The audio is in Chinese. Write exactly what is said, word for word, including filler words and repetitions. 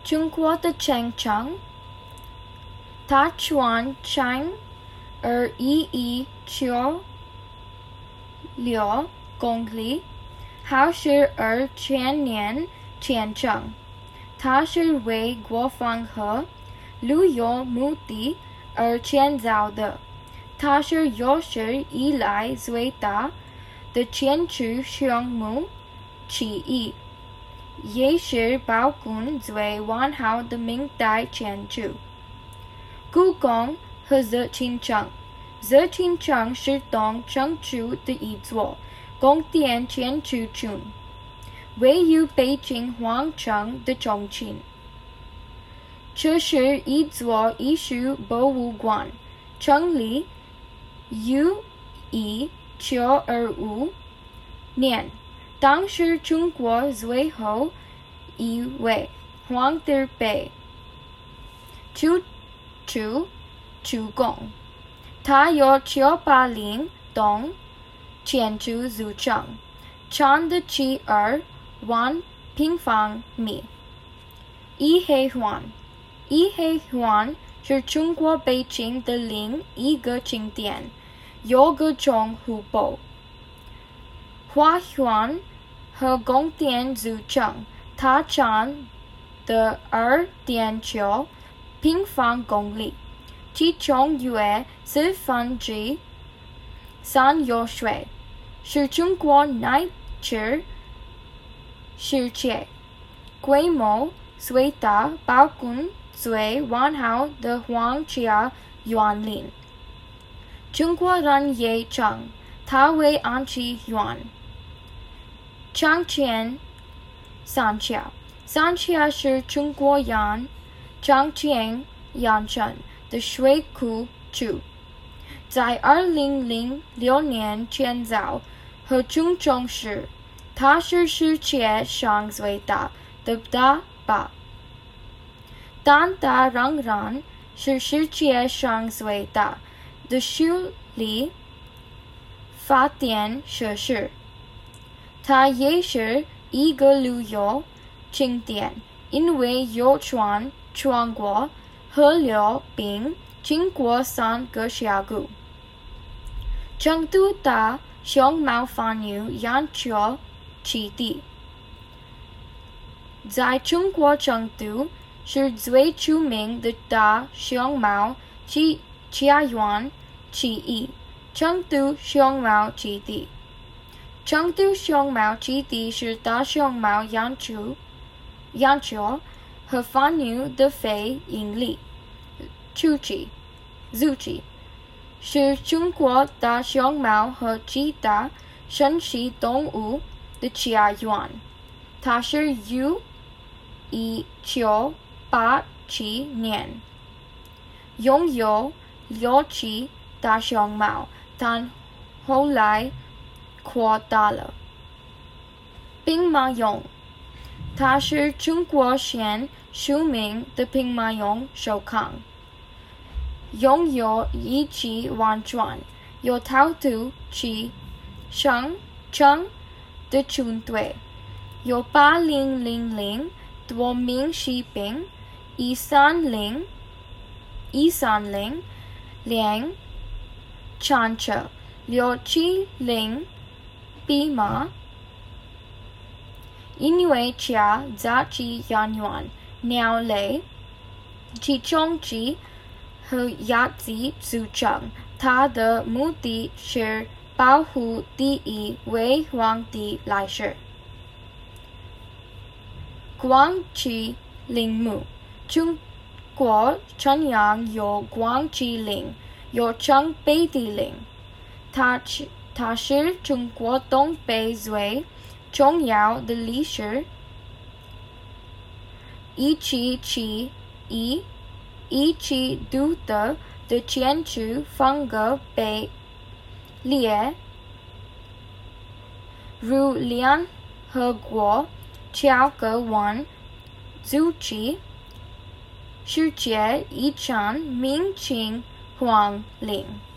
中国的城墙，它全长二一一九六公里，好是二千年前成。它是为国防和旅游目的而建造的。它是有史以来最大的建筑项目之一，也是保存最完好的明代建筑。故宫和紫禁城，紫禁城是东城区的一座宫殿建筑群，位于北京皇城的中心。这是一座艺术博物馆，成立于一九二五年，当时中国最后一位皇帝被驱逐出宫。它有九百零栋建筑组成，长的七二万平方米。颐和园，颐和园是中国北京的另一个景点，有各种湖泊、花园和宫殿组成。它占的二点九平方公里，其中约四分之三有水，是中国乃至世界规模最大、保存最完好的皇家园林。中国人也称它为安徽园。长江三峡，三峡是中国沿长江沿线的水库区，在二零零六年建造和竣工时，它是世界上最大的大坝，但它仍然是世界上最大的水力发电设施。它也是一个旅游景点，因为有船穿过河流并经过三个峡谷。成都大熊猫放牛研究基地在中国成都是最出名的大熊猫家园之一。成都熊猫基地，成都熊猫基地是大熊猫研究研究和放牛的非营利组织，组织是中国大熊猫和其他珍稀动物的家园。它是于一九八七年拥有六只大熊猫，但后来扩大了。兵马俑，它是中国现著名的兵马俑首抗，拥有一级完全由陶土制成成的军队，有八零零零多名士兵，一三零一三零辆战车，六七零匹马。因为家杂技演员、鸟类、其中鸡和鸭子组成，它的目的是保护第一位皇帝来世。光之陵墓，中国沈阳有光之陵，又称北帝陵，它它是中国东北最重要的历史遗迹之一，遗迹独特的建筑风格被列入联合国教科文组织世界遗产名录。